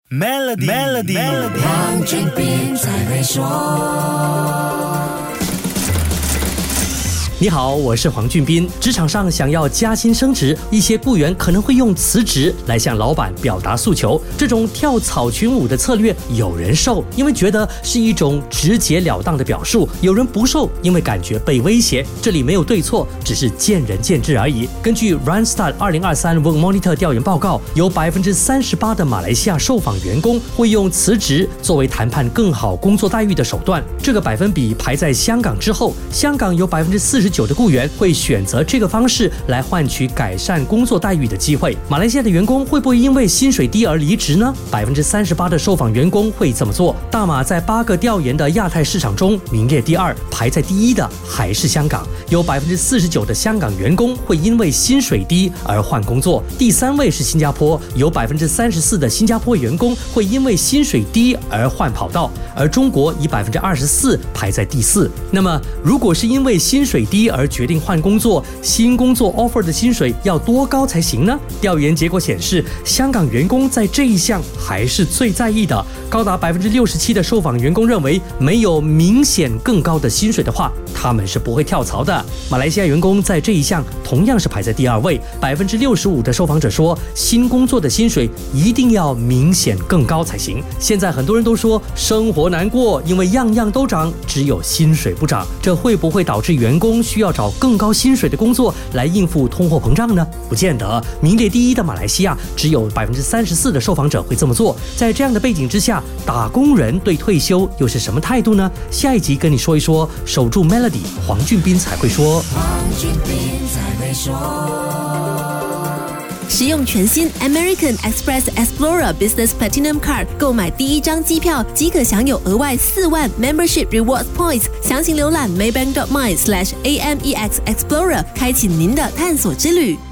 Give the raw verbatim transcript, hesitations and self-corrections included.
Melody Melody， 黄俊斌才会说。 你好，我是黄俊斌。职场上想要加薪升职，一些雇员可能会用辞职来向老板表达诉求。这种跳草裙舞的策略，有人受，因为觉得是一种直截了当的表述；有人不受，因为感觉被威胁。这里没有对错，只是见仁见智而已。根据 Randstad 二零二三 Work Monitor 调研报告，有百分之三十八的马来西亚受访员工会用辞职作为谈判更好工作待遇的手段。这个百分比排在香港之后，香港有百分之四十九的雇员会选择这个方式来换取改善工作待遇的机会。马来西亚的员工会不会因为薪水低而离职呢？百分之三十八的受访员工会这么做。大马在八个调研的亚太市场中名列第二，排在第一的还是香港。有百分之四十九的香港员工会因为薪水低而换工作。第三位是新加坡，有百分之三十四的新加坡员工会因为薪水低而换跑道，而中国以百分之二十四排在第四。那么，如果是因为薪水低而决定换工作，新工作 offer 的薪水要多高才行呢？调研结果显示，香港员工在这一项还是最在意的，高达百分之六十七的受访员工认为，没有明显更高的薪水的话，他们是不会跳槽的。马来西亚员工在这一项同样是排在第二位，百分之六十五的受访者说，新工作的薪水一定要明显更高才行。现在很多人都说生活难过，因为样样都涨，只有薪水不涨，这会不会导致员工需要找更高薪水的工作来应付通货膨胀呢？不见得。名列第一的马来西亚只有百分之三十四的受访者会这么做。在这样的背景之下，打工人对退休又是什么态度呢？下一集跟你说一说。守住 Melody， 黄俊斌才会说。 黄俊斌才会说。 使用全新 American Express Explorer Business Platinum Card 购买第一张机票即可享有额外四万 Membership Rewards Points。详情浏览 maybank dot my slash amex explorer， 开启您的探索之旅。